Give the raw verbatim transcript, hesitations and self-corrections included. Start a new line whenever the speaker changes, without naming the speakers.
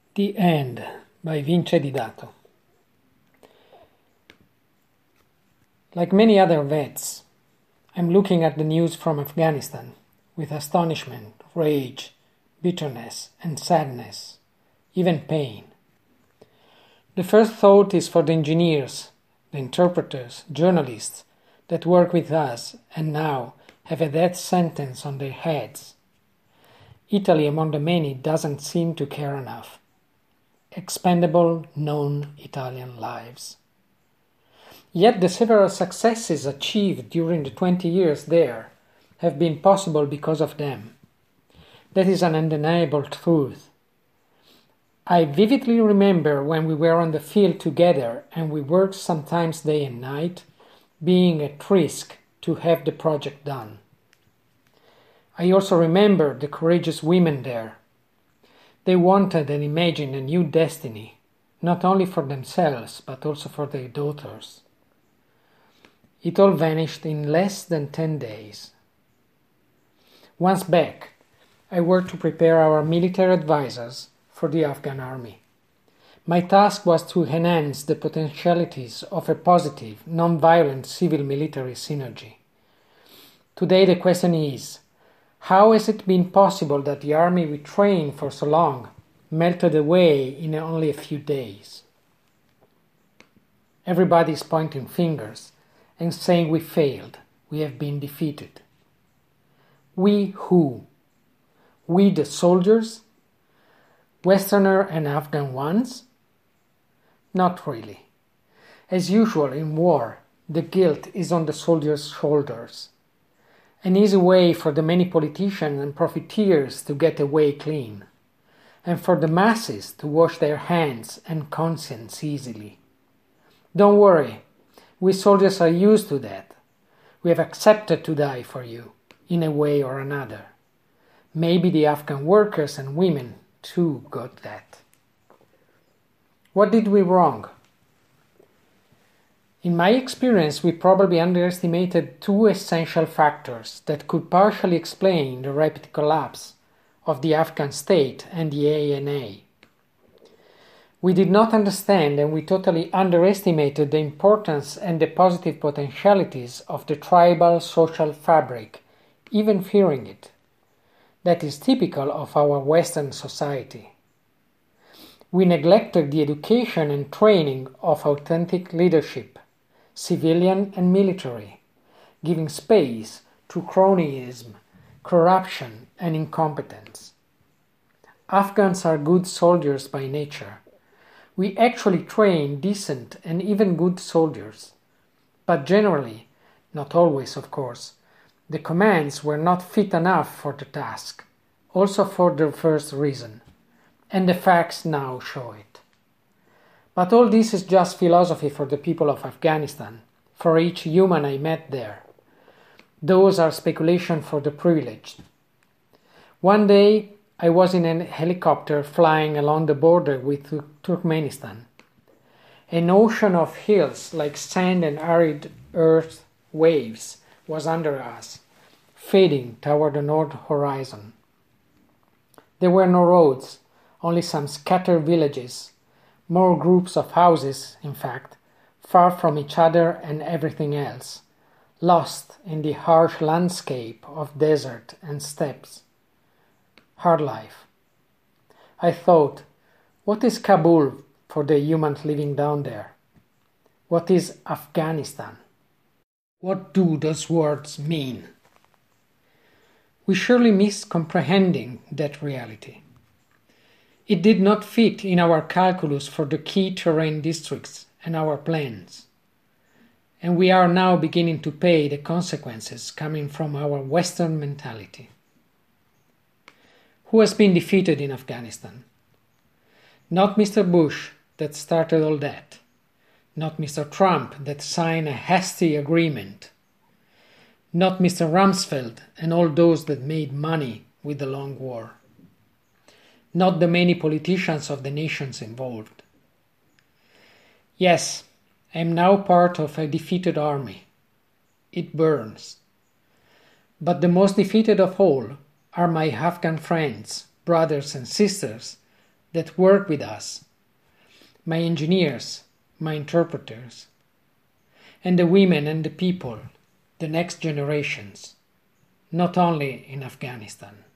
The End by Vince Di Dato. Like many other vets, I'm looking at the news from Afghanistan with astonishment, rage, bitterness, and sadness, even pain. The first thought is for the engineers, the interpreters, journalists that work with us and now have a death sentence on their heads. Italy, among the many, doesn't seem to care enough. Expendable, known Italian lives. Yet the several successes achieved during the twenty years there have been possible because of them. That is an undeniable truth. I vividly remember when we were on the field together and we worked sometimes day and night, being at risk to have the project done. I also remember the courageous women there. They wanted and imagined a new destiny, not only for themselves, but also for their daughters. It all vanished in less than ten days. Once back, I worked to prepare our military advisors for the Afghan army. My task was to enhance the potentialities of a positive, non-violent civil-military synergy. Today the question is, how has it been possible that the army we trained for so long melted away in only a few days? Everybody is pointing fingers and saying we failed, we have been defeated. We who? We the soldiers? Westerner and Afghan ones? Not really. As usual in war, the guilt is on the soldiers' shoulders. An easy way for the many politicians and profiteers to get away clean, and for the masses to wash their hands and conscience easily. Don't worry, we soldiers are used to that. We have accepted to die for you, in a way or another. Maybe the Afghan workers and women too got that. What did we wrong? In my experience, we probably underestimated two essential factors that could partially explain the rapid collapse of the Afghan state and the A N A. We did not understand and we totally underestimated the importance and the positive potentialities of the tribal social fabric, even fearing it. That is typical of our Western society. We neglected the education and training of authentic leadership, civilian and military, giving space to cronyism, corruption, and incompetence. Afghans are good soldiers by nature. We actually train decent and even good soldiers. But generally, not always of course, the commands were not fit enough for the task, also for the first reason, and the facts now show it. But all this is just philosophy for the people of Afghanistan, for each human I met there. Those are speculation for the privileged. One day I was in a helicopter flying along the border with Turkmenistan. An ocean of hills like sand and arid earth waves was under us, fading toward the north horizon. There were no roads, only some scattered villages, more groups of houses, in fact, far from each other and everything else, lost in the harsh landscape of desert and steppes. Hard life. I thought, what is Kabul for the humans living down there? What is Afghanistan? What do those words mean? We surely miss comprehending that reality. It did not fit in our calculus for the key terrain districts and our plans. And we are now beginning to pay the consequences coming from our Western mentality. Who has been defeated in Afghanistan? Not Mister Bush that started all that. Not Mister Trump that signed a hasty agreement. Not Mister Rumsfeld and all those that made money with the long war. Not the many politicians of the nations involved. Yes, I am now part of a defeated army. It burns. But the most defeated of all are my Afghan friends, brothers and sisters that work with us, my engineers, my interpreters, and the women and the people, the next generations, not only in Afghanistan.